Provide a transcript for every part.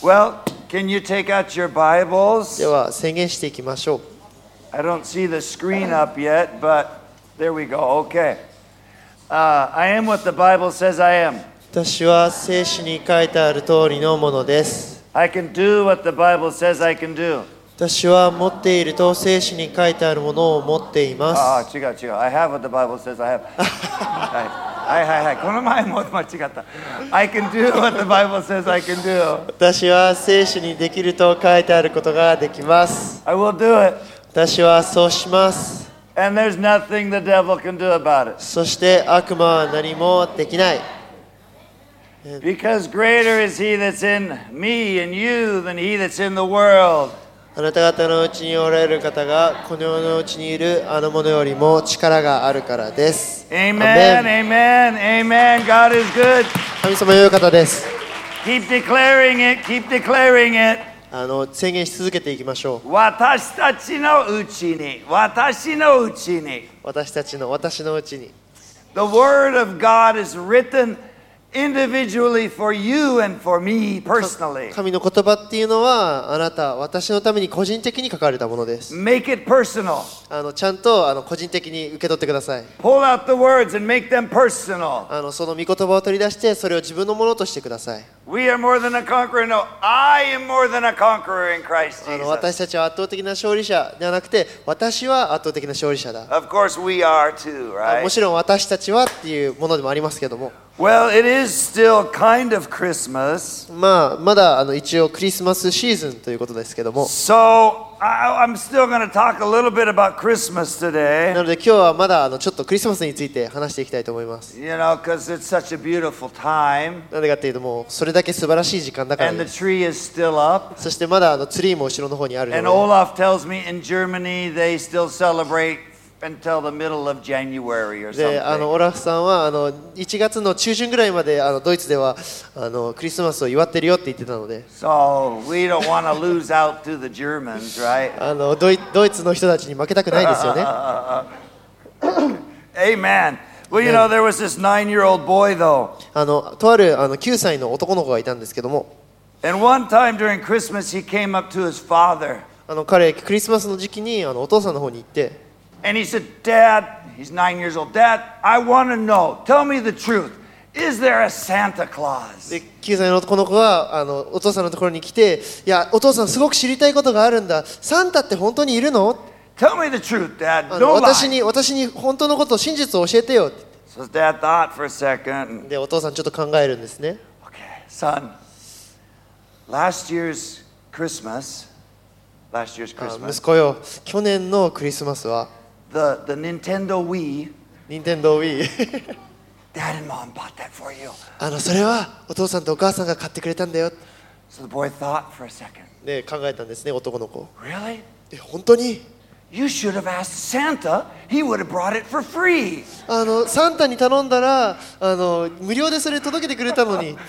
Well, can you take out your Bibles? では宣言していきましょう。 I don't see the screen up yet, but there we go. Okay. I am what the Bible says I am. 私は聖書に書いてある通りのものです。 I can do what the Bible says I can do. 私は持っていると聖書に書いてあるものを持っています。 違う。I have what the Bible says I have. はい。この前も間違った。I can do what the Bible says I can do. 私は聖書にできると書いてあることができます。 I will do it. 私はそうします。 And there's nothing the devil can do about it. そして悪魔は何もできない。 Because greater is he that's in me and you than he that's in the world. あなた方のうちにおられる方がこの世のうちにいるあの者よりも力があるからです。 Amen, amen. God is good. 神様良い方です。 Keep declaring it, keep declaring it. 宣言し続けていきましょう。 私たちのうちに。私のうちに。 私のうちに。 The word of God is written individually for you and for me personally. 神の言葉っていうのはあなた、私のために個人的に書かれたものです。 Make it personal. ちゃんと個人的に受け取ってください。 Pull out the words and make them personal. その御言葉を取り出してそれを自分のものとしてください。 We are more than a conqueror. No, I am more than a conqueror in Christ Jesus. 私たちは圧倒的な勝利者ではなくて、私は圧倒的な勝利者だ。 Of course we are too, right? もちろん私たちはっていうものでもありますけども。 Well, it is still kind of Christmas. まだ一応クリスマスシーズンということですけども。 So I'm still going to talk a little bit about Christmas today. なので今日はまだちょっとクリスマスについて話していきたいと思います。 You know, because it's such a beautiful time. なぜかというともうそれだけ素晴らしい時間だからです。 And the tree is still up. そしてまだツリーも後ろの方にあるので。 And Olaf tells me in Germany they still celebrate until the middle of January or something. で、オラフさんは1月の中旬ぐらいまでドイツではクリスマスを祝ってるよって言ってたので。 So we don't want to lose out to the Germans, right? ドイツの人たちに負けたくないですよね。 Amen. Well, you know, there was this 9-year-old boy though. とある9歳の男の子がいたんですけども。 And one time during Christmas he came up to his father. 彼クリスマスの時期にお父さんの方に行って。 And he said, Dad, he's 9 years old. Dad, I want to know. Tell me the truth. Is there a Santa Claus? で、9歳のこの子がお父さんのところに来て、いや、お父さんすごく知りたいことがあるんだ。サンタって本当にいるの？ Tell me the truth, Dad. No lie. 私に本当のこと、真実を教えてよ。 So Dad thought for a second. で、お父さんちょっと考えるんですね。 Okay, son. Last year's Christmas. 息子よ、去年のクリスマスは The Nintendo Wii. Nintendo Wii. Dad and Mom bought that for you. それはお父さんとお母さんが買ってくれたんだよ。 So the boy thought for a second. で、考えたんですね、男の子。 Really? 本当に？ You should have asked Santa. He would have brought it for free. サンタに頼んだら無料でそれ届けてくれたのに。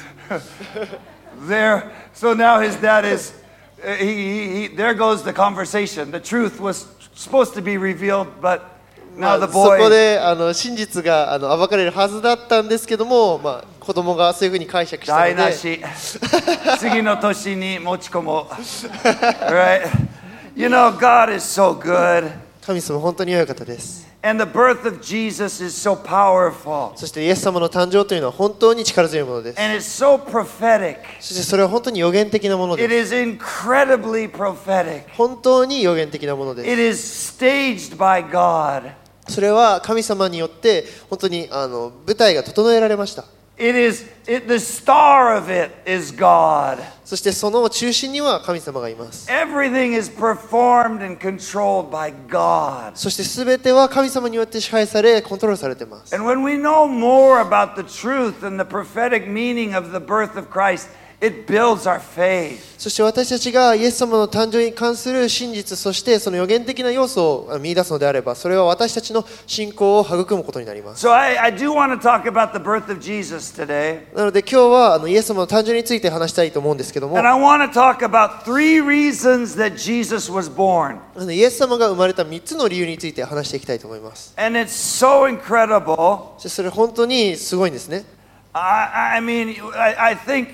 So now his dad is. There goes the conversation. The truth was supposed to be revealed, but now the boy. そこで真実が暴かれるはずだったんですけども、子供がそういうふうに解釈したので。 台無し。次の年に持ち込もう。Right? You know, God is so good. 神様本当に良い方です。 And the birth of Jesus is so powerful. そしてイエス様の誕生というのは本当に力強いものです。 And it's so prophetic. そしてそれは本当に予言的なものです。 It is incredibly prophetic. 本当に予言的なものです。 It is staged by God. それは神様によって本当に舞台が整えられました。 The star of it is God. そしてその中心には神様がいます。 Everything is performed and controlled by God. そしてすべては神様によって支配され、コントロールされています。 And when we know more about the truth and the prophetic meaning of the birth of Christ, it builds our faith. そして私たちがイエス様の誕生に関する真実、そしてその予言的な要素を見出すのであれば、それは私たちの信仰を育むことになります。 So I do want to talk about the birth of Jesus today. なので今日はイエス様の誕生について話したいと思うんですけども、 And I want to talk about 3 reasons that Jesus was born. イエス様が生まれた3つの理由について話していきたいと思います。 And it's so incredible. そしてそれ本当にすごいんですね。 I mean, I think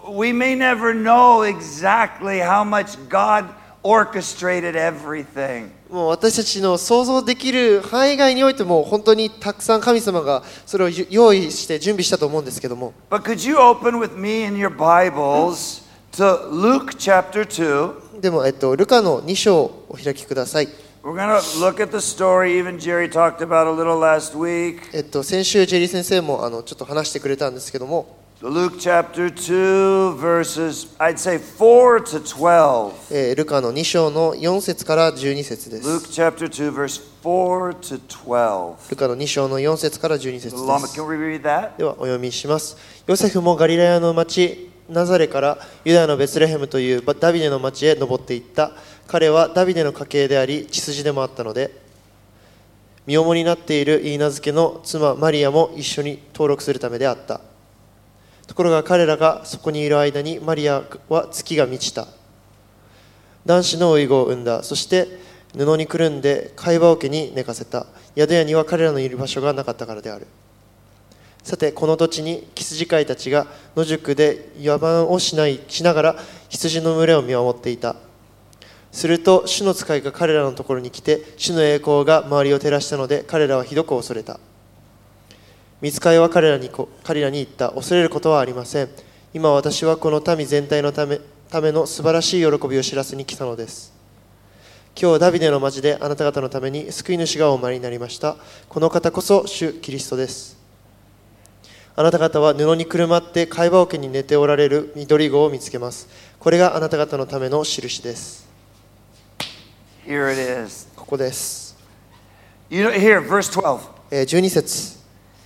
we may never know exactly how much God orchestrated everything. もう私たちの想像できる範囲外においても本当にたくさん神様がそれを用意して準備したと思うんですけども、 But could you open with me in your Bibles to Luke chapter 2? でも、ルカの2章をお開きください。 We're going to look at the story. Even Jerry talked about a little last week. 先週ジェリー先生もちょっと話してくれたんですけども、 Luke chapter 2 verses, I'd say 4 to 12. ルカの2章の4節から12節です。 Luke chapter 2 verse 4 to 12. ルカの2章の4節から12節で Lama, す。 can we read that? ではお読みします。ヨセフもガリラヤの町ナザレからユダヤのベツレヘムというダビデの町へ登っていった。彼はダビデの家系であり血筋でもあったので、身重になっているイーナ付けの妻マリアも一緒に登録するためであった。ところが彼らがそこにいる間にマリアは月が満ちた。男子の遺子を産んだ。そして布にくるんで貝羽桶に寝かせた。宿屋には彼らのいる場所がなかったからである。さてこの土地に羊飼いたちが野宿で野蛮をしながら羊の群れを見守っていた。すると主の使いが彼らのところに来て、主の栄光が周りを照らしたので彼らはひどく恐れた。御使いは彼らに言った。恐れることはありません。今私はこの民全体のための素晴らしい喜びを知らせに来たのです。今日ダビデの町であなた方のために救い主がお生まれになりました。この方こそ主キリストです。あなた方は布にくるまって貝羽桶に寝ておられる緑子を見つけます。これがあなた方のための印です。 Here it is. ここです。 You know, here, verse 12. 12節。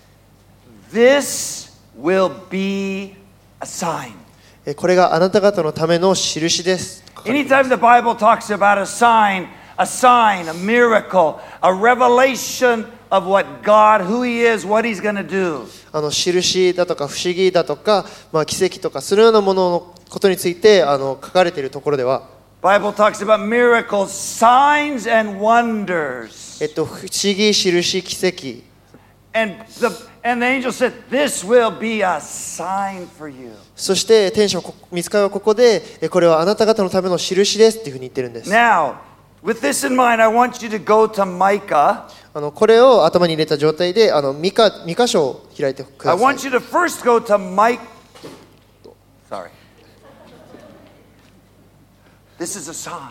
This will be a sign. これがあなた方のための印です。 Anytime the Bible talks about a sign, a miracle, a revelation of what God, who He is, what He's going to do. 印だとか不思議だとか、奇跡とかそのようなもののことについて書かれているところでは、 Bible talks about miracles, signs and wonders. 不思議、印、奇跡。 And the angel said, "This will be a sign for you." そして天使は御使いはここでこれはあなた方のための印ですっていうふうに言ってるんです。 Now, with this in mind, I want you to go to Micah. これを頭に入れた状態でミカ書を開いてく I ださい。 want you to first go to Sorry. This is a sign.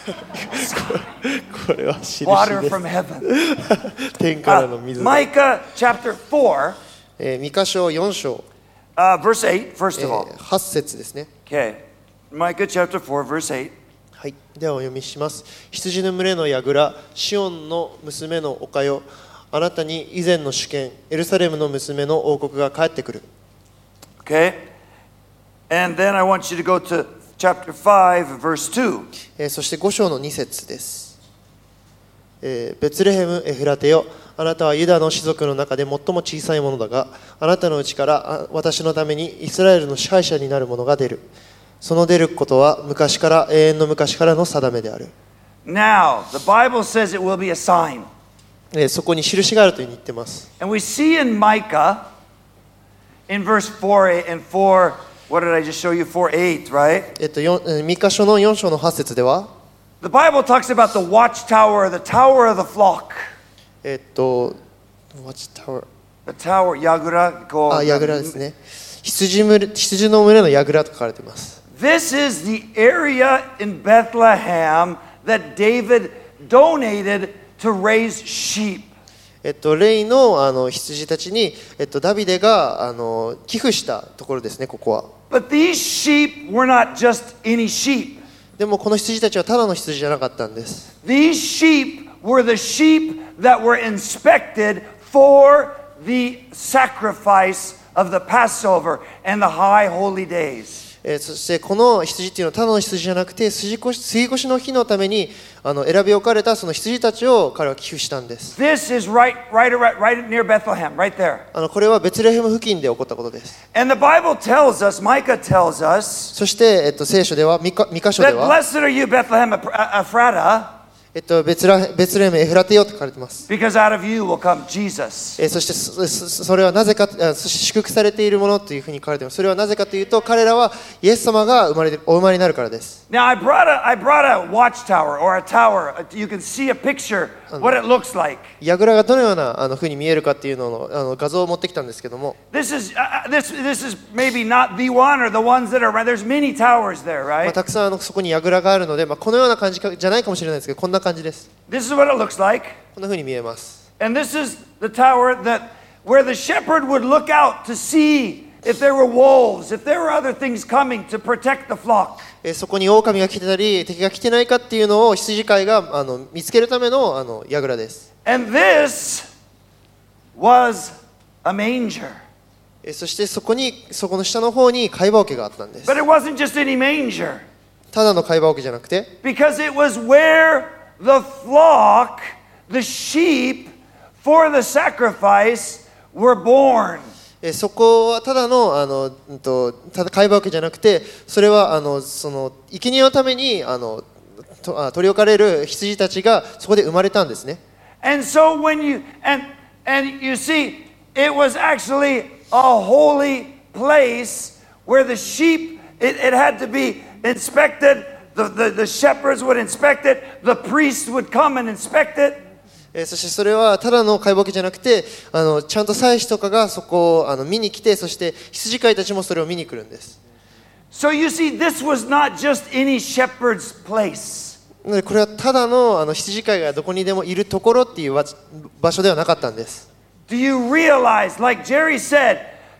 これは印 Water です。 from heaven. 天からの水。 Micah chapter 4, ミカ書4章、 verse 8, first of all. 8節ですね。 Okay. Micah chapter 4, verse 8. はい、ではお読みします。羊の群れの櫓、シオンの娘の丘よ、あなたに以前の主権、エルサレムの娘の王国が帰ってくる。 Okay. And then I want you to go to chapter 5, verse 2. そして5章の2節です。ベツレヘム・エフラテよ、あなたはユダの氏族の中で最も小さいものだが、あなたのうちから私のためにイスラエルの支配者になる者が出る。その出ることは昔から永遠の昔からの定めである。 Now, the Bible says it will be a sign. そこに印があるというふうに言っています。 And we see in Micah, in verse 4 and 4, what did I just show you? 4:8, right? ミカ書の4章の8節では、 The Bible talks about the watchtower, the tower of the flock. Watch Tower、 The tower, 櫓、こう、 櫓ですね。羊の群れの櫓と書かれています。 This is the area in Bethlehem that David donated to raise sheep. レイの羊たちにダビデが寄付したところですね、ここは。 But these sheep were not just any sheep. でもこの羊たちはただの羊じゃなかったんです。 These sheep were the sheep that were inspected for the sacrifice of the Passover and the high holy days. そしてこの羊っていうのはただの羊じゃなくて杉越の日のために選び置かれたその羊たちを彼は寄付したんです。 This is right near Bethlehem, right there. これはベツレヘム付近で起こったことです。 And the Bible tells us, Micah tells us, そして聖書ではミカ書で that は blessed are you, Bethlehem Ephrata. ベツレヘムエフラテよと書かれています。 Because out of you will come Jesus. そしてそれはなぜか、そして祝福されているものというふうに書かれています。それはなぜかというと、彼らはイエス様がお生まれになるからです。 Now I brought a watchtower or a tower. You can see a picture what it looks like. 櫓がどのようなふうに見えるかっていうのの画像を持ってきたんですけども、 This is maybe not the one or the ones that are around. There's many towers there, まあ、 right? たくさんそこに櫓があるので、まあ、このような感じじゃないかもしれないですけど、こんな感じです。 This is what it looks like. こんなふうに見えます。 And this is the tower where the shepherd would look out to see if there were wolves, if there were other things coming to protect the flock. そこに狼が来てたり敵が来てないかっていうのを羊飼いが見つけるための櫓です。 And this was a manger. そしてそこの下の方に貝羽桶があったんです。 But it wasn't just any manger, ただの貝羽桶じゃなくて、 because it was where the flock, the sheep for the sacrifice were born. そこはただのただ貝羽桶じゃなくて、それはその生贄のために取り置かれる羊たちがそこで生まれたんですね。 And so when you see, it was actually a holy place where the sheep, it had to be inspected. The shepherds would inspect it. The priests would come and inspect it. そしてそれはただの貝羽桶じゃなくて、ちゃんと祭司とかがそこを見に来て、そして羊飼いたちもそれを見に来るんです。 So you see, this was not just any shepherd's place. なのでこれはただの羊飼いがどこにでもいるところっていう場所ではなかったんです。 Do you realize, like Jerry said,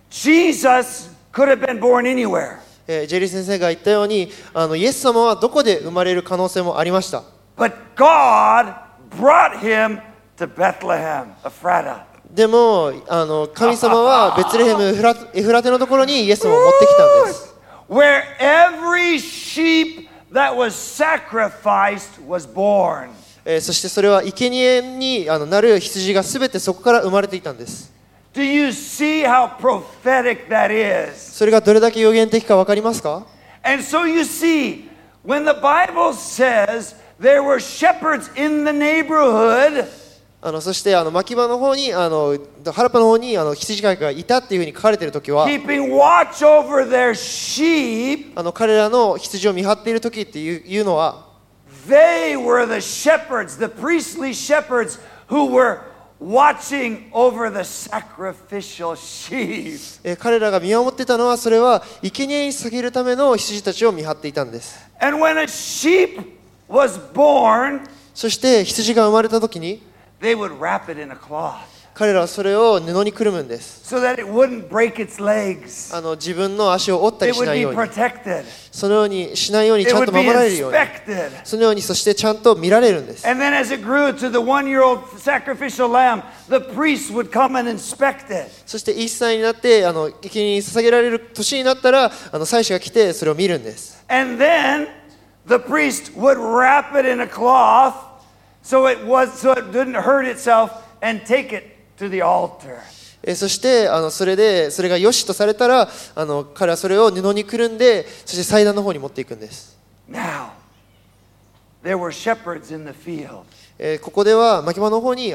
Jesus could have been born anywhere. ジェリー先生が言ったように、イエス様はどこで生まれる可能性もありました。 But God brought him to Bethlehem, Ephrata. でも神様はベツレヘムエフラテのところにイエス様を持ってきたんです。 Where every sheep that was sacrificed was born. そしてそれは生贄になる羊がすべてそこから生まれていたんです。 Do you see how prophetic that is? それがどれだけ予言的か分かりますか？ And so you see, when the Bible says there were shepherds in the neighborhood, そして牧場の方に原っぱの方に羊飼いがいたっていうふうに書かれているときは、 keeping watch over their sheep, 彼らの羊を見張っているときっていうのは、 they were the shepherds, the priestly shepherds who were watching over the sacrificial sheep. 彼らが見守っていたのは、それは生贄に捧げるための羊たちを見張っていたんです。 And when a sheep was born, そして羊が生まれたときに、 they would wrap it in a cloth 彼らはそれを布にくるむんです。 so that it wouldn't break its legs. 自分の足を折ったり It し would ない be ように、 protected. そのようにしないように It ちゃん would と be 守られるように、 inspected. そのように、そしてちゃんと見られるんです。 And then as it grew to the 1-year-old sacrificial lamb, the priests would come and inspect it. そして1歳になって生贄に捧げられる年になったら祭司が来てそれを見るんです。 And then the priest would wrap it in a cloth so it didn't hurt itself and take it to the altar. そしてそれが良しとされたら彼はそれを布にくるんで、そして祭壇の方に持っていくんです。 Now, there were shepherds in the field. ここでは牧場の方に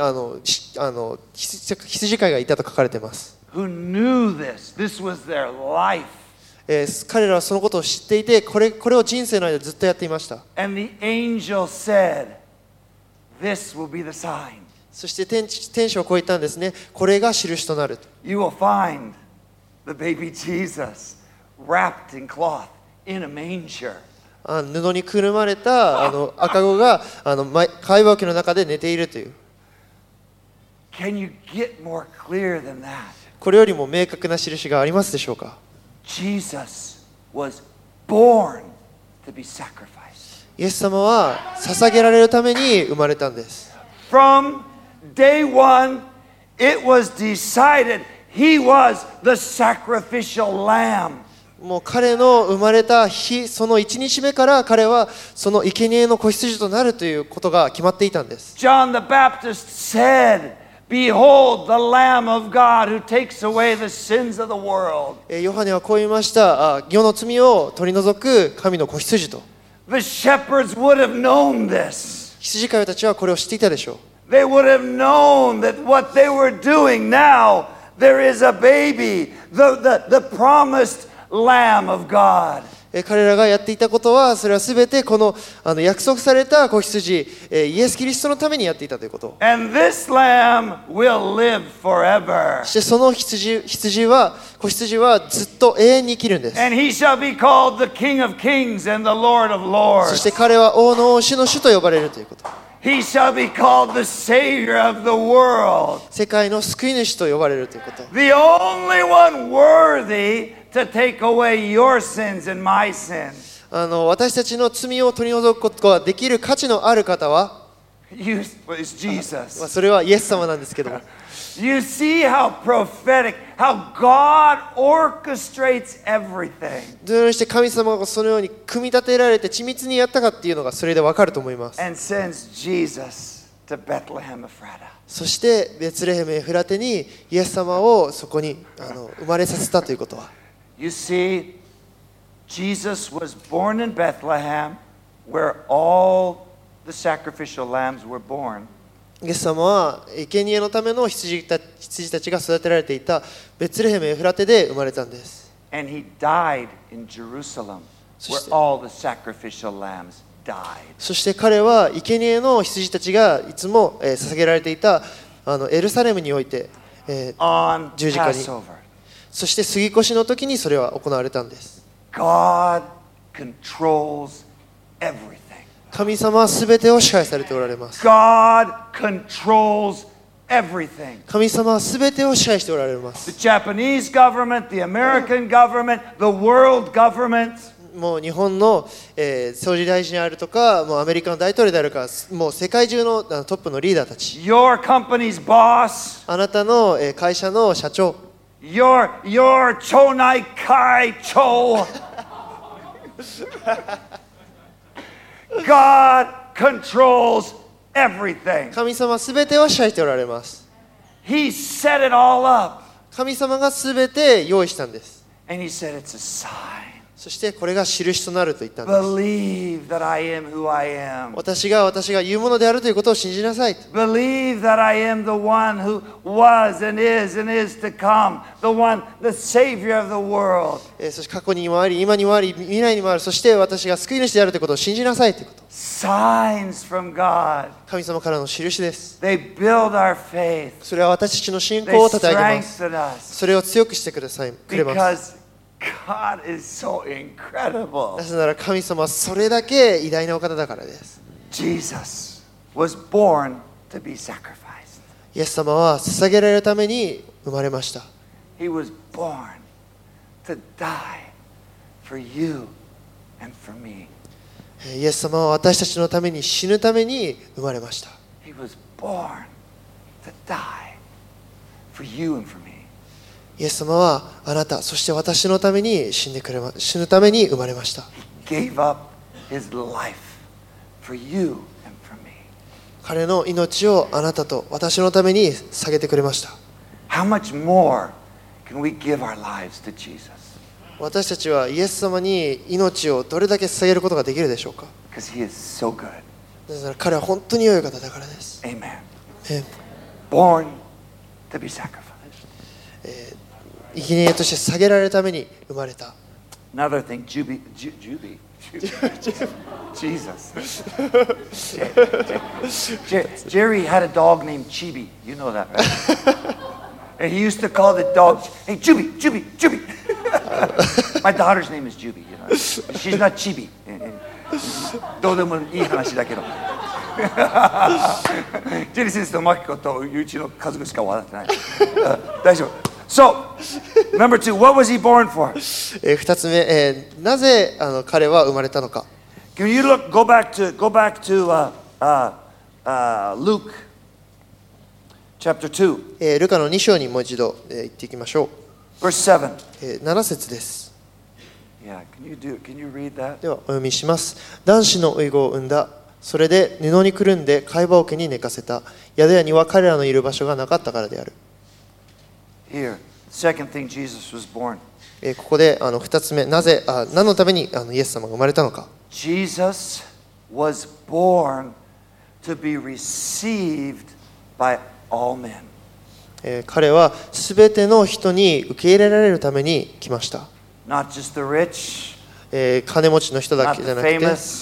羊飼いがいたと書かれています。 Who knew this? This was their life. 彼らはそのことを知っていて、これを人生の間ずっとやっていました。 And the angel said, "This will be the sign. そして天使はこう言ったんですね。これが印となる。 You will find the baby Jesus wrapped in cloth in a manger." 布にくるまれた赤子が貝羽桶の中で寝ているという。 Can you get more clear than that? これよりも明確な印がありますでしょうか？ Jesus was born to be sacrificed. イエス様は捧げられるために生まれたんです。 From day one, it was decided he was the sacrificial lamb. もう彼の生まれた日、その1日目から彼はその生贄の子羊となるということが決まっていたんです。 John the Baptist said, "Behold the Lamb of God who takes away the sins of the world." ヨハネはこう言いました。世の罪を取り除く神の子羊と。 The shepherds would have known this. 羊飼いたちはこれを知っていたでしょう。 They would have known that what they were doing now, there is a baby, the promised Lamb of God. 彼らがやっていたことは、それはすべてこの約束された子羊、イエス・キリストのためにやっていたということ。 And this Lamb will live forever. そしてその子羊はずっと永遠に生きるんです。 And he shall be called the King of Kings and the Lord of そし Lords. て彼は王の王、主の主と呼ばれるということ。 He shall be called the Savior of the world. 世界の救い主と呼ばれるということ。 The only one worthy to take away your sins and my sins. 私たちの罪を取り除くことができる価値のある方は、 Is Jesus. それはイエス様なんですけども、 You see how prophetic, how God orchestrates everything. どのようにして神様がそのように組み立てられて緻密にやったかっていうのがそれでわかると思います。 And sends Jesus to Bethlehem Ephrata. そしてベツレヘムエフラテにイエス様をそこに生まれさせたということは、 You see, Jesus was born in Bethlehem where all the sacrificial lambs were born. イエス様は生贄のための羊たちが育てられていたベツレヘムエフラテで生まれたんです。 And he died in Jerusalem where all the sacrificial lambs died. そして彼は生贄の羊たちがいつも捧げられていたエルサレムにおいて On 十字架に、 Passover. そして杉越の時にそれは行われたんです。 God controls everything. 神様は全てを支配されておられます。 God controls everything. 神様は全てを支配しておられま The す。 Japanese government, the American government, the world government. もう日本の、総理大臣であるとか、もうアメリカの大統領であるか、もう世界中のトップのリーダーたち、 Your company's boss. あなたの会社の社長、 Your chonai kai cho. God controls everything. 神様は全てを支配しておられます。 He set it all up. 神様が全て用意したんです。 And he said it's a sign. そしてこれが印となると言ったんです。 Believe that I am who I am. 私が言うものであるということを信じなさい。 Believe that I am the one who was and is to come. The one, the Savior of the world. そして過去にもあり、今にもあり、未来にもある。そして私が救い主であるということを信じなさいということ。 Signs from God. 神様からの印です。 They build our faith. それは私たちの信 They 仰を立て上げます。 strengthen us. それを強くしてくれます。 Because God is so incredible. なぜなら神様はそれだけ偉大なお方だからです。 Jesus was born to be sacrificed. イエス様は捧げられるために生まれました。 He was born to die for you and for me. イエス様は私たちのために死ぬために生まれました。 He was born to die for you and for me. イエス様はあなた、そして私のために死ぬために生まれました。 He gave up his life for you and for me. 彼の命をあなたと私のために捧げてくれました。 How much more can we give our lives to Jesus? 私たちはイエス様に命をどれだけ捧げることができるでしょうか。 Because he is so good. なぜなら彼は本当に良い方だからです。 Amen. え Born to be sacrificed. 生贄として捧げられるために生まれた。 Another thing, Jesus. Jerry had a dog named Chibi. You know that, right? And he used to call the dog, hey, Juby, Juby, Juby. My daughter's name is Juby. You know, she's not Chibi. どうでもいい話だけど。ジェリー先生とマキコとうちの家族しか笑ってない。大丈夫。So, number two, what was he born for? 2つ目、なぜ彼は生まれたのか。 Can you go back to Luke chapter 2, ルカの2章にもう一度、行っていきましょう。 verse 7. 7節です。 Yeah, can you read that? ではお読みします。男子の遺語を産んだ。それで布にくるんで貝羽桶に寝かせた。宿屋には彼らのいる場所がなかったからである。 Here, second thing, Jesus was born. ここで2つ目、何のためにイエス様が生まれたのか。 Jesus was born to be received by all men. 彼はすべての人に受け入れられるために来ました。 Not just the rich, 金持ちの人だ not け the じゃなくて、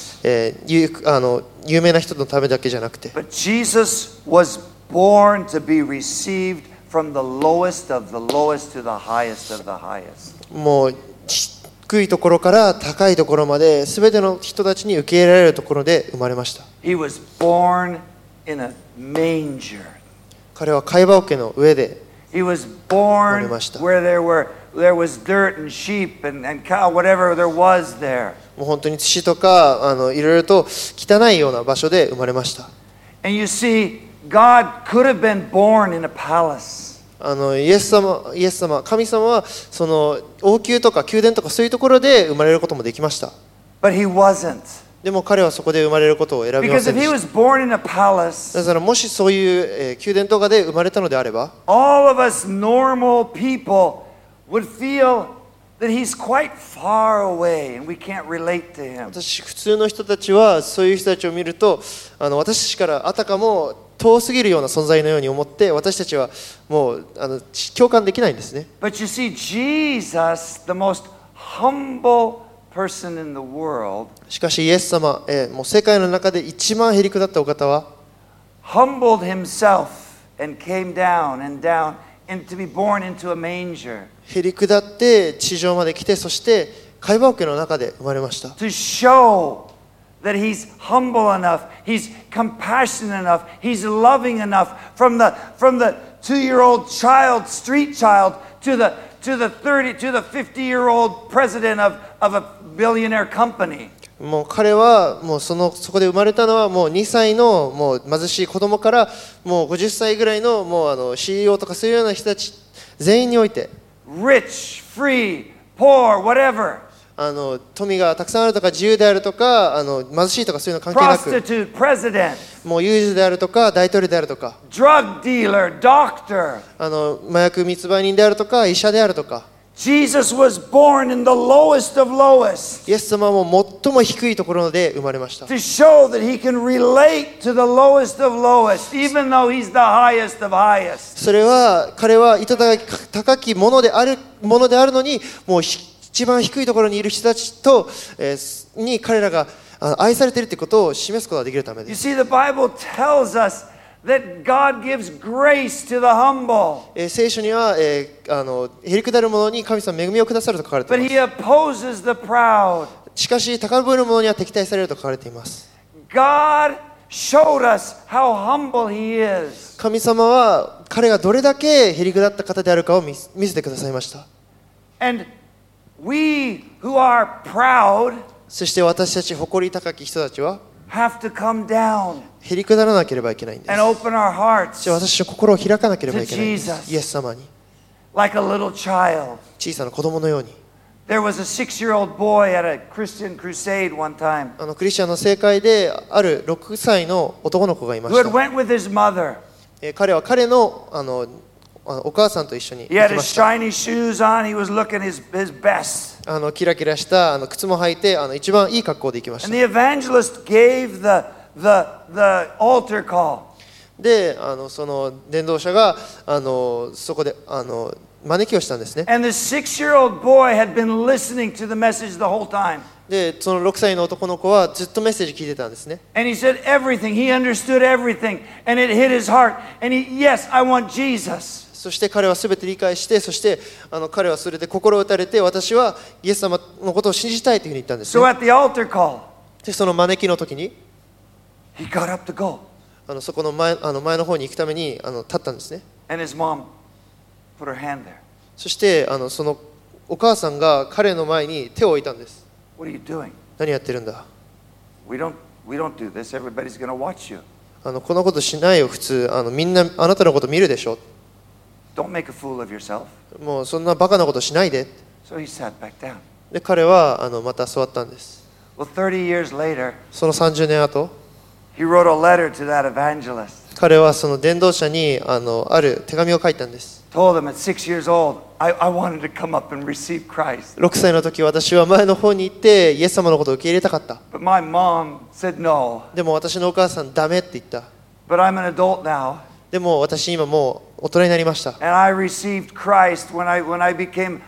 famous, 有名な人のためだけじゃなくて、 but Jesus was born to be received from the lowest of the lowest to the highest of the highest. もう低いところから高いところまで、すべての人たちに受け入れられるところで生まれました。 He was born in a manger. 彼は貝羽桶の上で、 He was born 生まれました。 where there was dirt and sheep and cow, whatever there was there. もう本当に土とかいろいろと汚いような場所で生まれました。 And you see, God could have been born in a palace. イエス様、神様はその王宮とか宮殿とかそういうところで生まれることもできました。 But he wasn't. でも彼はそこで生まれることを選びま Because せん if で he し was born in a た。 palace, だからもしそういう宮殿とかで生まれたのであれば、 all of us normal people would feel that he's quite far away and we can't relate to him. 普通の人たちはそういう人たちを見ると、私たちからあたかも遠すぎるような存在のように思って、私たちはもう共感できないんですね。 But you see, Jesus, the most humble person in the world, しかしイエス様、もう世界の中で一番へりくだったお方は、 humbled himself and came down and to be born into a manger へりくだって地上まで来て、そして貝羽桶の中で生まれました。 to show that he's humble enough, he's compassionate enough, he's loving enough from the 2-year-old child, street child, to the 50-year-old president of a billionaire company. もう彼はもうそこで生まれたのはもう2歳のもう貧しい子供からもう50歳ぐらいのもうCEO とかそういうような人たち全員において、 Rich, free, poor, whatever. 富がたくさんあるとか自由であるとか貧しいとかそういうの関係なく、 Prostitute, president, もう有事であるとか大統領であるとか、 drug dealer, doctor. 麻薬密売人であるとか医者であるとか、 Jesus was born in the lowest of lowest イエス様も最も低いところで生まれました。 to show that he can relate to the lowest of lowest, even though he's the highest of highest. それは彼は高きものであるのに、もう一番低いところにいる人たちと、に彼らが愛されているということを示すことができるためで You す。 see, the Bible tells us that God gives grace to the humble, 聖書には、へりくだる者に神様恵みをくださると書かれて but い he ま opposes the proud. す。しかし高ぶる者には敵対されると書かれています。 God showed us how humble he is. 神様は彼がどれだけへりくだった方であるかを見せてくださいました。 And we who are proud そして私たち誇り高き人たちは have to come down へりくだらなければいけないんです。 and open our そ hearts して私たちの心を開かなければいけないんです。 To Jesus. イエス様に like a little child. 小さな子供のように。 There was a 6-year-old boy at a Christian crusade one time クリスチャンの正会である6歳の男の子がいま who し had た。 went with his mother. 彼は彼のお母さんと一緒に He 行 had き his ました。 shiny shoes on. He was looking his best. キラキラした靴も履いて一番いい格好で行きまし And た。 the evangelist gave the altar call. でその伝道者がそこで招きをしたんですね。 And the 6-year-old boy had been listening to the message the whole time. でその6歳の男の子はずっとメッセージ聞いてたんですね。 And he said everything. He understood everything. And it hit his heart. And yes, I want Jesus. そして彼は全て理解して、そして彼はそれで心を打たれて、私はイエス様のことを信じたいというふうに言ったんです So ね。 at the altar call, でその招きの時に he got up to go. そこの前の方に行くために立ったんですね。 And his mom put her hand there. そしてそのお母さんが彼の前に手を置いたんです。 What are you doing? 何やってるんだ。 We don't do this. Everybody's going to watch you. こんなことしないよ、普通みんなあなたのこと見るでしょ。 Don't make a fool of yourself. もうそんなバカなことしないで。 So he sat back down. で彼はまた座ったんです。 Well, 30 years later, その30年後、 he wrote a letter to that evangelist, 彼はその伝道者にある手紙を書いたんです。 told him at 6 years old, I wanted to come up and receive Christ. 6歳の時、私は前の方に行ってイエス様のことを受け入れたかった。 But my mom said no. でも私のお母さん、ダメって言った。 But I'm an adult now. でも私今もう大人になりました。 And I received Christ when I became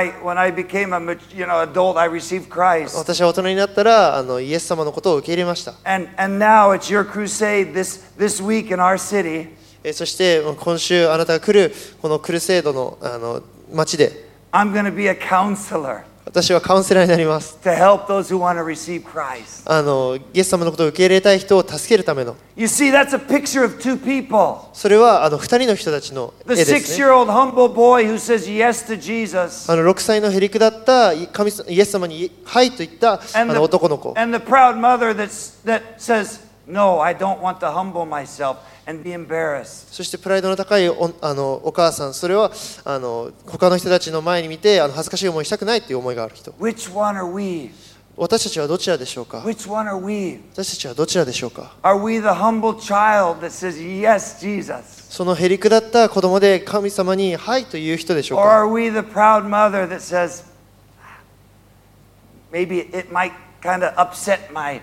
a adult. I received Christ. 私は大人になったらイエス様のことを受け入れました。 And now it's your crusade this week in our city. そして今週あなたが来るこのクルセイドの町で、 I'm going to be a counselor 私はカウンセラーになります。 to help those who want to receive Christ. イエス様のことを受け入れたい人を助けるための。 You see, that's a picture of two people. それは2人の人たちの絵 The ですね。 6-year-old humble boy who says yes to Jesus. 6歳のへりくだったイエス様にはいと言った男の子。 And the proud mother that says, no, I don't want to humble myself and be embarrassed. そしてプライドの高いお母さん、それは他の人たちの前に見て恥ずかしい思いしたくないという思いがある人。 Which one are we? 私たちはどちらでしょうか。 Which one are we? 私たちはどちらでしょうか。 Are we the humble child that says, yes, Jesus? そのへりくだった子供で神様にはいという人でしょう Or か。 are we the proud mother that says, maybe it might kind of upset my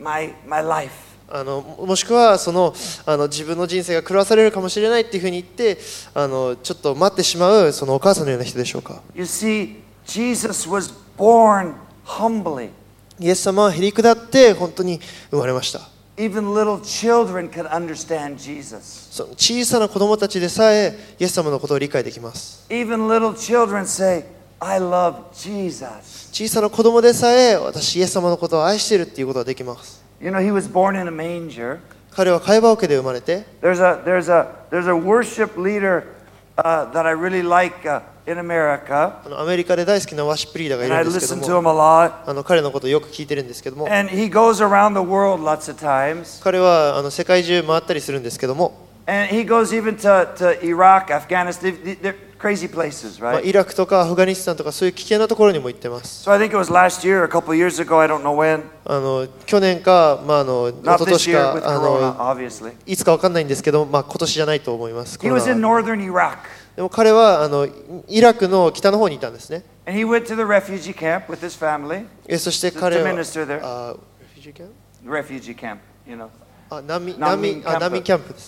life? もしくは自分の人生が狂わされるかもしれないっていうふうに言ってちょっと待ってしまうそのお母さんのような人でしょうか。 You see, Jesus was born humbly. イエス様はへりくだって本当に生まれました。 Even little children could understand Jesus. その小さな子供たちでさえイエス様のことを理解できます。 Even little children say, I love Jesus. 小さな子供でさえ私イエス様のことを愛しているっていうことができます。 You know, he was born in a manger. 彼は貝羽桶で生まれて、 There's a worship leader that I really like in America. アメリカで大好きなワーシップリーダーがい And I るんですけ listen ど to も、 him a lot. 彼のことをよく聞いてるんですけども、 And he goes around the world lots of times. 彼は世界中回ったりするんですけども、 And he goes even to Iraq, Afghanistan. They're crazy places, イ right? ラクとかアフガニスタンとかそういう危険なところにも行ってます。 So I think it was last year, a couple of years ago, I don't know when. 去年か、一 Not 昨 this 年 year with か Corona, obviously. いつか分かんないんですけど、今年じゃないと思います。 He was in northern Iraq. でも彼はイラクの北の方にいたんですね。 And he went to the refugee camp with his family. そして彼 To は minister there. あ refugee camp？ Refugee camp, you know. 難民難民キャンプ難民キャンプです。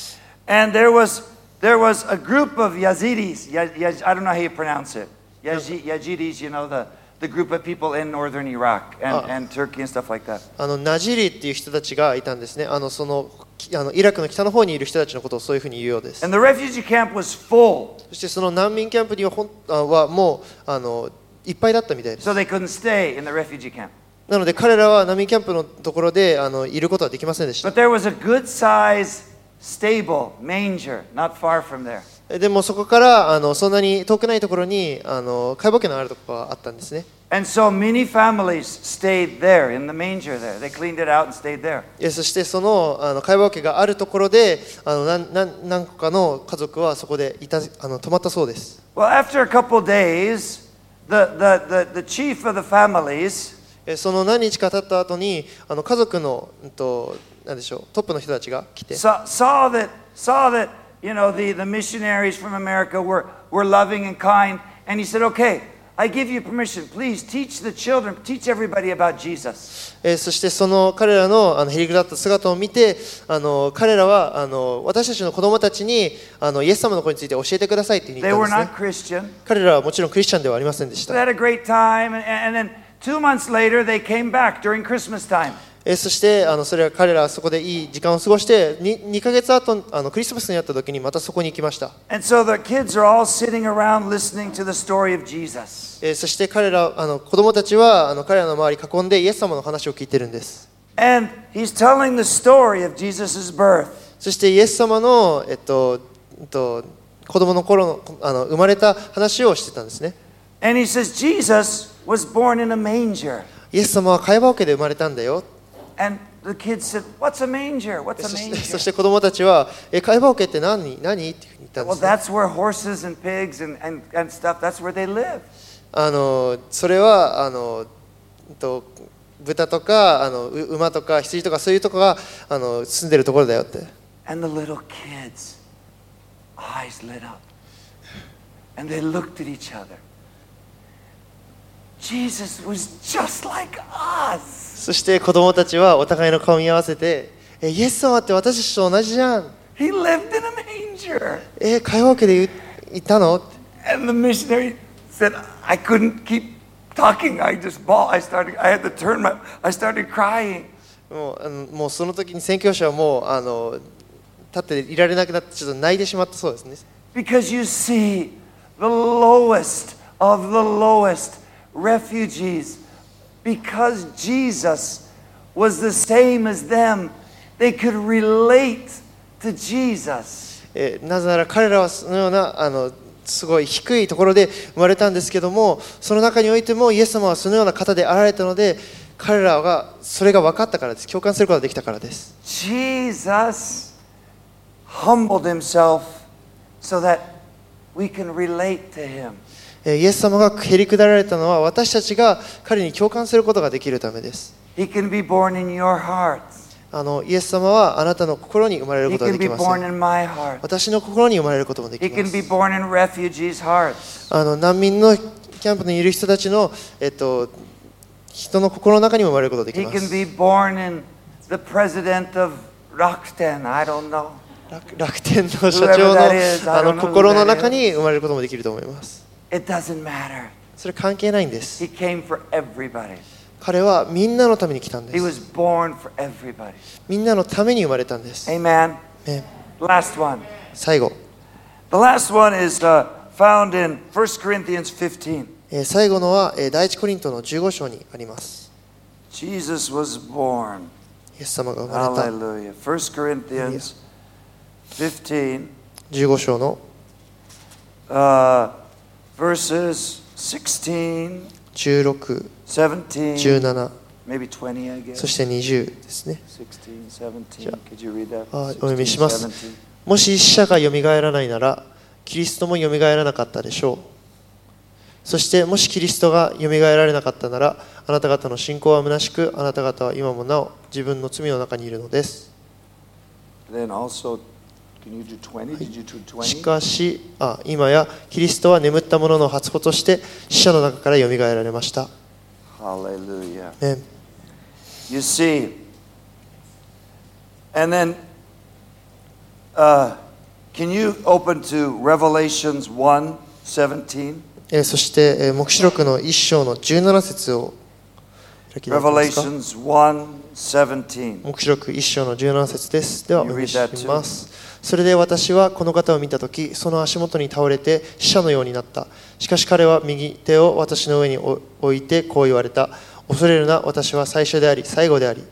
And there was a group of Yazidis. I don't know how you pronounce it. Yazidis, you know, the group of people in northern Iraq and Turkey and stuff like that. ナジリっていう人たちがいたんですね。イラクの北の方にいる人たちのことをそういうふうに言うようです。 And the refugee camp was full, そしてその難民キャンプにはもういっぱいだったみたいです。 so they couldn't stay in the refugee camp. なので彼らは難民キャンプのところでいることはできませんでした。 But there was a good size stable, manger, not far from there. でもそこからそんなに遠くないところに貝羽桶のあるところがあったんですね。 And so many families stayed there in the manger there. They cleaned it out and stayed there. そしてその貝羽桶があるところで何個かの家族はそこで泊まったそうです。 Well, after a couple of days, the chief of the families その何日か経った後に家族の何でしょう、トップの人たちが来て saw that you know the missionaries from America were loving and kind, and he said, "Okay, I give you permission. Please teach the children, teach everybody about Jesus." そしてその彼らのへりくだった姿を見て彼らは私たちの子供たちにイエス様のことについて教えてくださいって言 They ったん were ですね。 not Christian. 彼らはもちろんクリスチャンではありませんでし They た。 had a great time, and then 2 months later they came back during Christmas time. そして彼らはそこでいい時間を過ごして2ヶ月後クリスマスにあった時にまたそこに行きました。 And so the kids are all sitting around listening to the story of Jesus. そして彼ら子供たちは彼らの周り囲んでイエス様の話を聞いてるんです。 And he's telling the story of Jesus' birth. そしてイエス様の子供の頃の生まれた話をしてたんですね。 And he says Jesus was born in a manger. イエス様は貝羽桶で生まれたんだよ。 And the kids said, "What's a manger? What's a そ manger?" して子供たちは貝羽桶って何っていうふうに言ったんで Well, す、ね。 that's where horses and pigs and stuff, that's where they live. それは豚とか馬とか羊とかそういうとこが住んでるところだよって。 And the little kids' eyes lit up. And they looked at each other. Jesus was just like us. そして子供たちはお互いの顔を見合わせて、イエス様って私たちと同じじゃん。 He lived in a manger. 会話でいたの？ And the missionary said, I couldn't keep talking. I just bawled. I had to turn I started crying. もうその時に宣教師はもう立っていられなくなってちょっと泣いてしまったそうですね。 Because you see, the lowest of the lowest refugees, because Jesus was the same as them, they could relate to Jesus. なぜなら彼らはそのようなすごい低いところで生まれたんですけども、その中においてもイエス様はそのような方であられたので、彼らがそれが分かったからです。共感することができたからです。 Jesus humbled himself so that we can relate to him. イエス様がへりくだられたのは私たちが彼に共感することができるためです。 He can be born in your heart. イエス様はあなたの心に生まれる He ことが can で be きます。 born in my heart. 私の心に生まれることもでき He ま can be す。 born in refugees' hearts. 難民のキャンプにいる人たちの、人の心の中にも生まれることができ He ま can す。 be born in the president of Rakuten. I don't know. 楽天の社長 Whoever that is, I don't の know who 心の that 中 is. に生まれることもできると思います。 It doesn't matter. それ関係ないんです。 He came for everybody. 彼はみんなのために来たんで He す。 was born for everybody. みんなのために生まれたんです。 Amen. ね、 Last one. 最後、 The last one is found in 1 Corinthians 15. 最後のは第一コリントの15章にあります。 Jesus was born. イエス様が生まれた Hallelujah. 1 Corinthians 15, 15章の verses 16, 16、 17, 17、 maybe 20, I guess. そして20ですね。 16, 17. Could you read that? お読みします。 17. もし死者がよみがえらないなら、キリストもよみがえらなかったでしょう。そしてもしキリストがよみがえられなかったなら、あなた方の信仰は虚しく、あなた方は今もなお自分の罪の中にいるのです。 Then also, can you do 20? Did you do し 20? かし、今やキリストは眠った者の初歩として死者の中からよみがえられました。 Hallelujah. ね、 You see, and then, can you open to Revelations 1:17? そして、黙示録の1章の17節を開きたいと思いますか。 Revelations 1:17. 黙示録1章の17節です。ではお読みします。それで私はこの方を見たとき、その足元に倒れて死者のようになった。しかし彼は右手を私の上に置いてこう言われた。恐れるな、私は最初であり最後であり。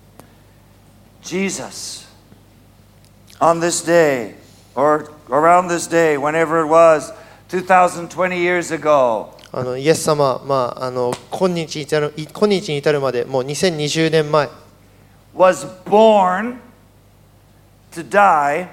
Jesus, on this day, or around this day, whenever it was, 2020 years ago, イエス様、今日に至るまでもう2020年前 was born to die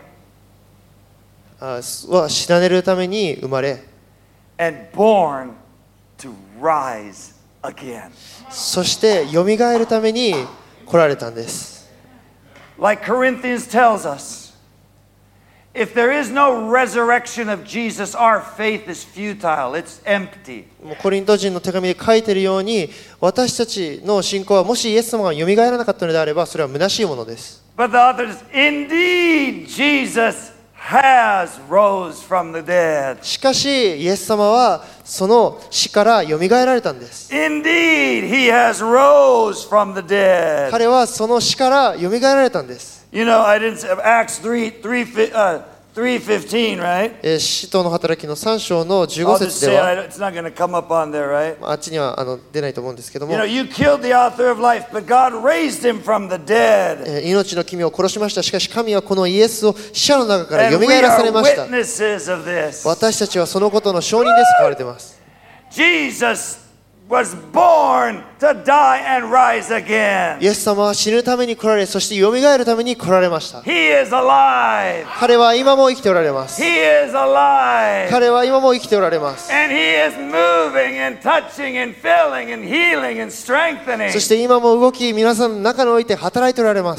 は死なれるために生まれ、 and born to rise again. そしてよみがえるために来られたんです。 Like Corinthians tells us, if there is no resurrection of Jesus, our faith is futile, it's empty. もうコリント人の手紙で書いているように、私たちの信仰はもしイエス様がよみがえらなかったのであれば、それは虚しいものです。 But the author is, indeed, Jesus has rose from the dead. しかし、イエス様はその死からよみがえられたんです。 Indeed, he has rose from the dead. 彼はその死からよみがえられたんです。 You know, I didn't say Acts 3:15, right? 使徒の働きの3章の I'll 15 just 節 say で it. は、 It's not going to come up on there, right? あっちには出ないと思うんですけども You know, you killed the author of life, but God raised him from the dead. 命の君を殺しました。しかし神はこのイエスを死者の中から And よみ we がえらされ are ました。 witnesses of this. 私たちはそのことの証人ですと書かれています。 Jesus was born to die and rise again. イエス様は死ぬために来られ、そしてよみがえるために来られました。 He is alive. 彼は今も生きておられます。 He is alive. 彼は今も生きておられます。 And he is moving and touching and filling and healing and strengthening. そして今も動き、皆さんの中において働いておられます。 He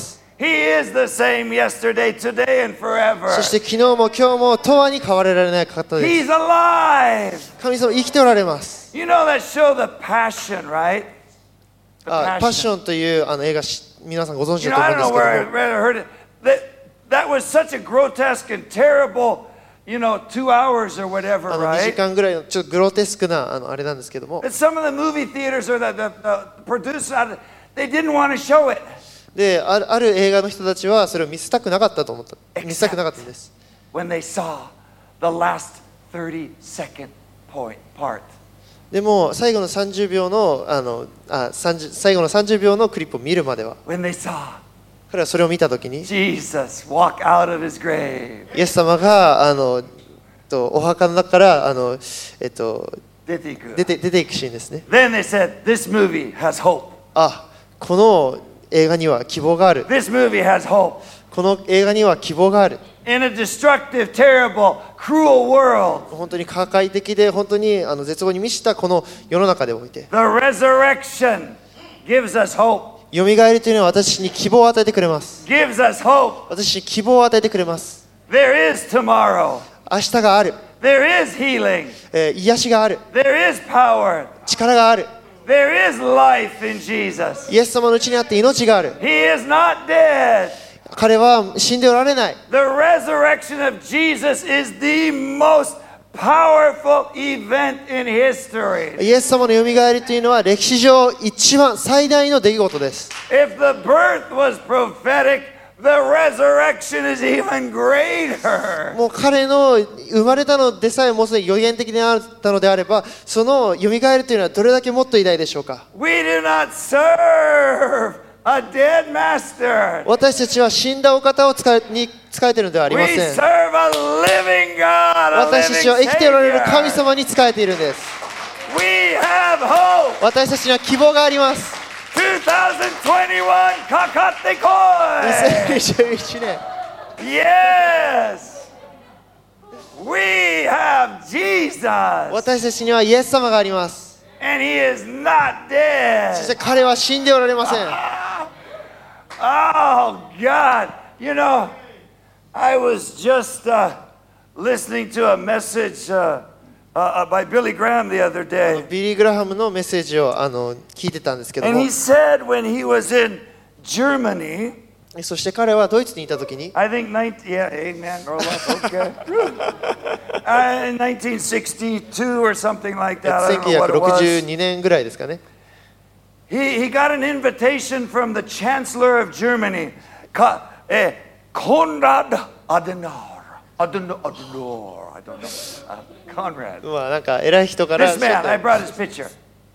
He is the same yesterday, today, and forever. そして昨日も今日も永遠に変わられない方で He's す。 alive. 神様生きておられます。 You know that show, The Passion, right? The パッションという映画皆さんご存知 You だ know, と I 思うん don't です know け where ど I も、 read or heard it. That was such a grotesque and terrible, 2 hours or whatever, 2 right? 時間ぐらいのちょっとグロテスクなあれなんですけども、 But some of the movie theaters or the producers, they didn't want to show it. である映画の人たちはそれを見せたくなかったと思った。見せたくなかったんです。 When they saw the last 30-second part. でも最後の30秒の最後の30秒のクリップを見るまでは、 When they saw 彼はそれを見たときに、 Jesus walk out of his grave. イエス様がお墓の中から出ていくシーンですね。 Then they said, this movie has hope. この映画には希望がある。 This movie has hope. この映画には希望がある。 In a destructive, terrible, cruel world, 本当に破壊的で本当に絶望に満ちたこの世の中でおいて、 the resurrection gives us hope. よみがえりというのは私に希望を与えてくれます。 Gives us hope. 私に希望を与えてくれます。 There is tomorrow. 明日がある。 There is healing. 癒しがある。 There is power. 力がある。 There is life in Jesus. イエス様のうちにあって命がある。 He is not dead. 彼は死んでおられない。 The resurrection of Jesus is the most powerful event in history. イエス様のよみがえりというのは歴史上一番最大の出来事です。 If the birth was prophetic, the resurrection is even greater. もう彼の生まれたのでさえもうすでに予言的であったのであれば、そのよみがえりというのはどれだけもっと偉大でしょうか。 We do not serve a dead master. 私たちは死んだお方をに仕えているのではあり We ません。 serve a living God, a 私たちは living 生きておられる神 Savior. 様に仕えているんです。 We have hope. 私たちには希望があります。 2021, Kakate Koi. 2021年、 Yes. We have Jesus. 私たちにはイエス様があります。 And he is not そして dead. 彼は死んでおられません。 Oh, God. I was just listening to a message by Billy Graham the other day. ビリー・グラハムのメッセージを聞いてたんですけど And も he、said when he was in Germany, そして彼はドイツにいたときに、 I think, yeah, amen, roll up, okay. In 1962 or something like that, I don't know what it was. 1962年ぐらいですかね。 He got an invitation from the Chancellor of Germany, Konrad Adenauer. I don't know. Conrad. まあなんか偉い人から This man, I brought his picture.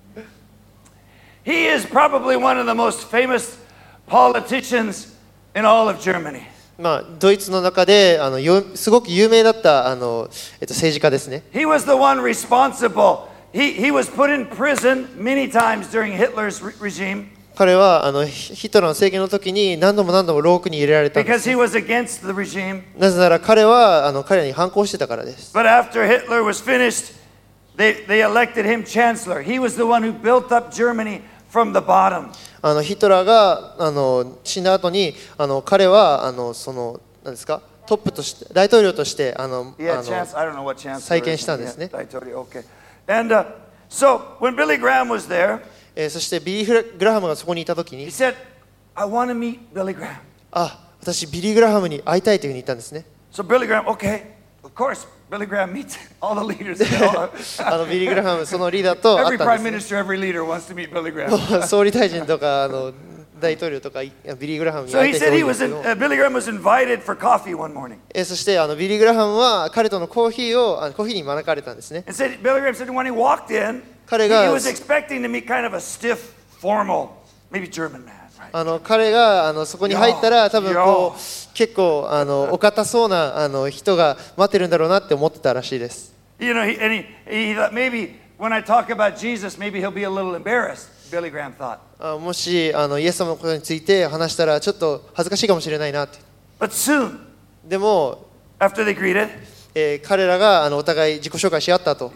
He is probably one of the most famous politicians in all of Germany. まあドイツの中ですごく有名だった政治家ですね。 He was the one responsible. He was put in prison many times during Hitler's regime 彼はヒトラーの政権の時に何度も牢獄に入れられたんで because す。 he was against the regime. なぜなら彼は彼らに反抗してたからです。 But after Hitler was finished, they elected him chancellor. He was the one who built up Germany from the bottom. ヒトラーが死んだ後に彼は何ですか、トップとして大統領として I don't know what chancellor. 再建したんですね。 Okay. And so when Billy Graham was there, そしてビリー・グラハムがそこにいた時 he に、 said, "I want to meet Billy Graham." 私ビリー・グラハムに会いたいというふうに言ったんですね。 So Billy Graham, okay, of course, Billy Graham meets all the leaders. ビリー・グラハムそのリーダーと会 Every った prime んですね。 minister, every leader wants to meet Billy Graham. 総理大臣とか大統領とかビリー・グラハムに So 会い he たい said 人多 he いんで was すけど、 Billy Graham was invited for coffee one morning. そしてビリー・グラハムは彼とのコーヒーに招かれたんですね。 And said Billy Graham said when he walked in, he 彼が was expecting to meet kind of a stiff, formal, maybe German man. Right? 彼がそこに入ったら多分結構お堅そうな人が待ってるんだろうなって思ってたらしいです。 He thought maybe when I talk about Jesus, maybe he'll be a little embarrassed. Billy Graham thought. もしイエス様のことについて話したらちょっと恥ずかしいかもしれないなって。 But soon, でも、 after they greeted, 彼らがお互い自己紹介し合った後、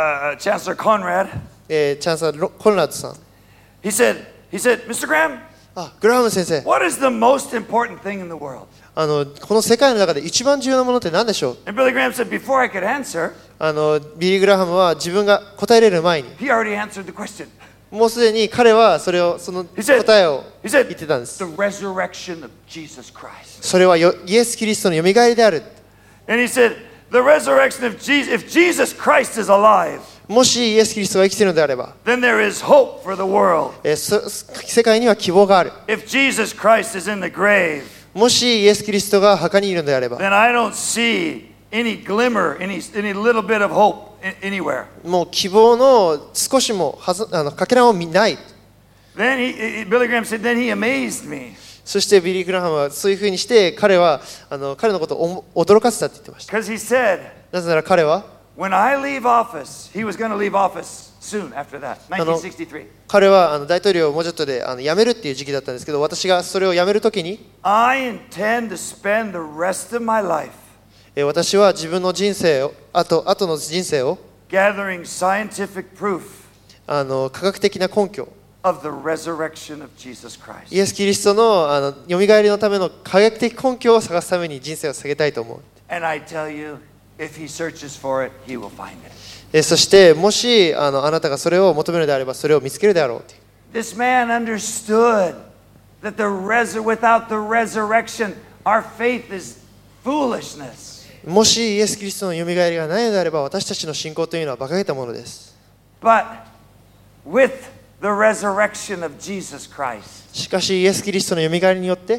Chancellor Conrad, チャンスラーコンラッドさん、 he said, Mr. Graham, グラハム先生、 What is the most important thing in the world? この世界の中で一番重要なものって何でしょう？ And Billy Graham said, before I could answer, ビリー・グラハムは自分が答えれる前に、 he already answered the question. もうすでに彼はその He said, 答えを he 言 said, ってたんです。 the resurrection of Jesus Christ. それはイエス・キリストのよみがえりである。 And he said, the resurrection of Jesus, if Jesus Christ is alive, もしイエス・キリストが生きているのであれば、 then there is hope for the world. 世界には希望がある。 If Jesus Christ is in the grave, もしイエス・キリストが墓にいるのであれば、 then I don't see any glimmer, any little bit of hope anywhere. もう希望の少しもかけらもない。 Then Billy Graham said, then he amazed me. そしてビリー・グラハムはそういうふうにして彼のことを驚かせたって言ってました。 Because he said, なぜなら彼は when I leave office, he was going to leave office soon after that, 1963. 彼は大統領をもうちょっとで辞めるっていう時期だったんですけど、私がそれを辞めるときに I intend to spend the rest of my life 私は自分の人生を後の人生を gathering scientific proof 科学的な根拠 of the resurrection of Jesus Christ. イエス・キリストのよみがえりのための科学的根拠を探すために人生を捧げたいと思う。 And I tell you, if he searches for it, he will find it. そしてもしあなたがそれを求めるのであればそれを見つけるであろうという。 This man understood that without the resurrection, our faith is foolishness. もしイエス・キリストのよみがえりがないのであれば私たちの信仰というのは馬鹿げたものです。 But with the resurrection of Jesus Christ, しかしイエス・キリストのよみがえりによって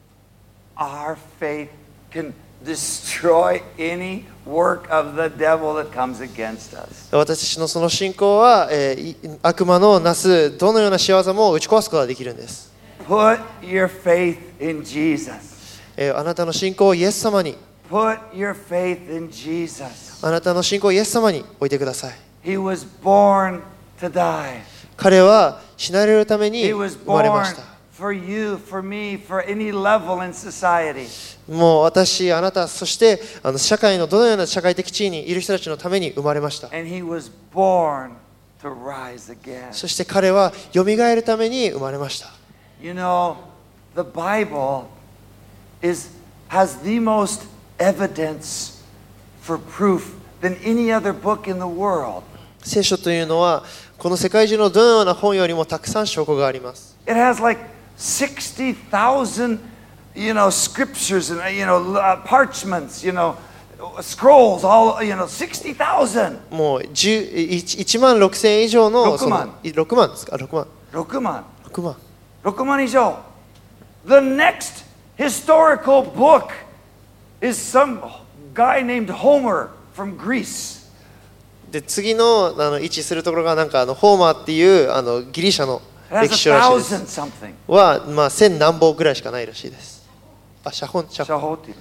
our faith can destroy any work of the devil that comes against us. 私たちのその信仰は、悪魔のなすどのような仕業も打ち壊すことができるんです。 Put your faith in Jesus. あなたの信仰をイエス様に Put your faith in Jesus. あなたの信仰をイエス様に置いてください。 He was born to die. 彼は死なれるために He was 生まれま born した。 for you, for me, for any level in society. もう私、あなた、そして社会のどのような社会的地位にいる人たちのために生まれました。 And he was born to rise again. そして彼はよみがえるために生まれました。 You know, the Bible has the most evidence for proof than any other book in the world. 聖書というのはこの世界中のどのような本よりもたくさん証拠があります。 It has like 60,000, scriptures and, parchments, scrolls, all, 60,000. もう1万6000以上の 6万 6万ですか6万 6万。 6万 6万以上。The next historical book is some guy named Homer from Greece. で次の位置するところがなんかホーマーっていうギリシャの It 歴 has 史書らしいで 1,000 す。 something. はまあ1000何本ぐらいしかないらしいです。写本 Shahoti.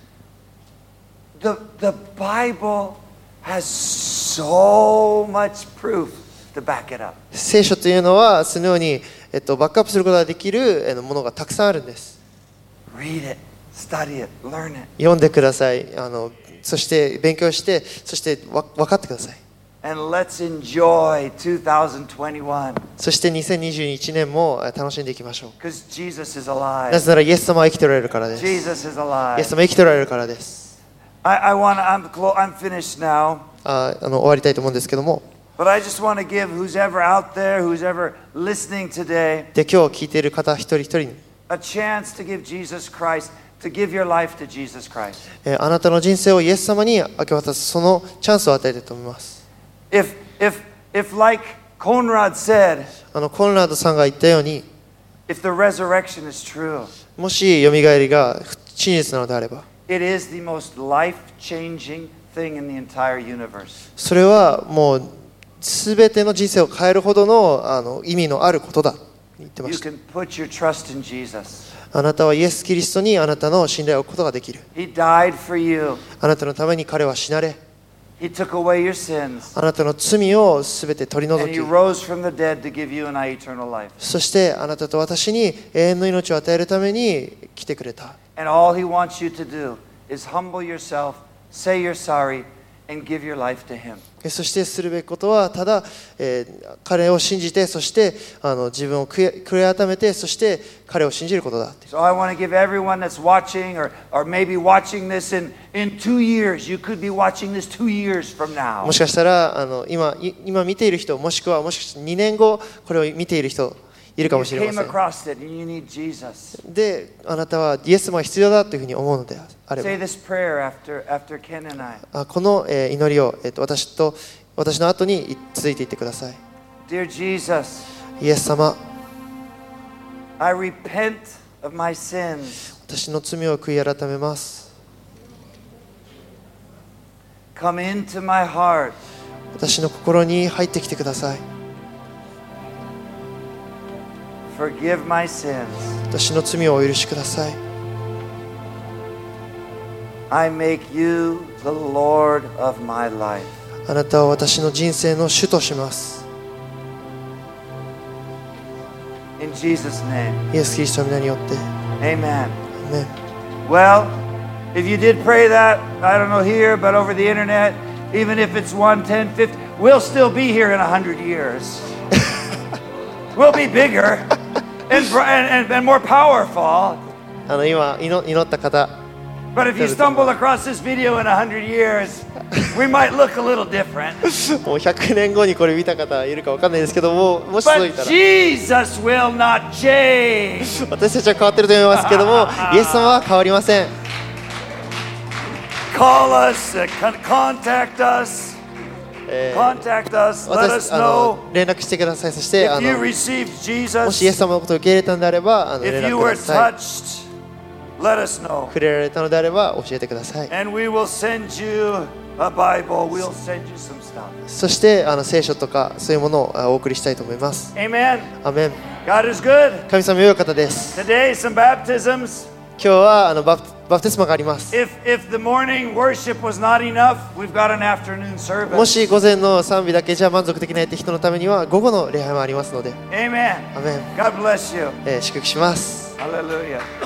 The Bible has so much proof to back it up. 聖書というのはそのようにバックアップすることができるものがたくさんあるんです。 Read it, study it, learn it. 読んでください。そして勉強して、そして分かってください。 And let's enjoy 2021 そして2021年も楽しんでいきましょう。 because Jesus is な alive. ぜならイエス様は生きておられるからです。イエ Jesus is ス alive. 様は生きておられるからです。 I'm finished now. 終わりたいと思うんですけども、 But I just want to give who's ever out there, who's ever listening today, で今日聞いている方一人一人に、 a chance to give Jesus Christ, to give your life to Jesus Christ. あなたの人生をイエス様に明け渡すそのチャンスを与えたいと思います。 If like Conrad said, コンラードさんが言ったように、 if the resurrection is true, もしよみがえりが真実なのであれば、 it is the most life-changing thing in the entire universe. それはもうすべての人生を変えるほどの意味のあることだと言ってま You した。 can put your trust in Jesus. あなたはイエス・キリストにあなたの信頼を置くことができる。 He died for you. あなたのために彼は死なれ、 He took away your sins. あなたの罪をすべて取り除 And き he、rose from the dead to give you and I eternal life. そしてあなたと私に永遠の命を与えるために来てくれた。 And all he wants you to do is humble yourself, say you're sorry, and give your life to Him. そしてするべきことはただ、彼を信じて、そして自分を悔い改めて、そして彼を信じることだ。 So I want to give everyone that's watching or maybe watching this in 2 years. You could be watching this 2 years from now. もしかしたら今見ている人、もしくは2年後これを見ている人いるかもしれ You ま came せん。 across it and you need Jesus. で、あなたはイエス様が必要だというふうに思うのであれ Say ば、 this prayer after Ken and I. この祈りを、私の後に続いていってください。 Dear Jesus, イエス様、 I repent of my sins. 私の罪を悔い改めます。 Come into my heart. 私の心に入ってきてください。 Forgive my sins. 私の罪をお許しください。 I make you the Lord of my life. あなたは私の人生の主とします。 In Jesus' name. イエス・キリストの皆によって。 Amen. アーメン。 Well, if you did pray that, I don't know here, but over the internet, even if it's 1, 10, 50, we'll still be here in 100 years. We'll be bigger and more powerful. 今祈った方、 But if you stumble across this video in 100 years, we might look a little different. もう100年後にこれ見た方いるかわかんないですけども、もしそうい But たら Jesus will not change. 私たちは変わってると思いますけども、イエス様は変わりません。 Call us, contact us, contact us, let 私 us know 連絡してください。そして if you received もしイエ Jesus, ス様のことを受け入れたのであれば連 if 絡 you く were ださい。 touched, let us know. 触れられたのであれば教えてください。 And we will send you a Bible, we'll send you some stuff. そして聖書とかそういうものをお送りしたいと思います。 Amen. アメン。 God is good. 神様良い方です。 Today, some baptisms. 今日はバプテスマがあります。 If the morning worship was not enough, we've got an afternoon も service. し午前の賛美だけじゃ満足できないって人のためには午後の礼拝もありますので、 Amen. アメン。 God bless you. 祝福します。 Hallelujah.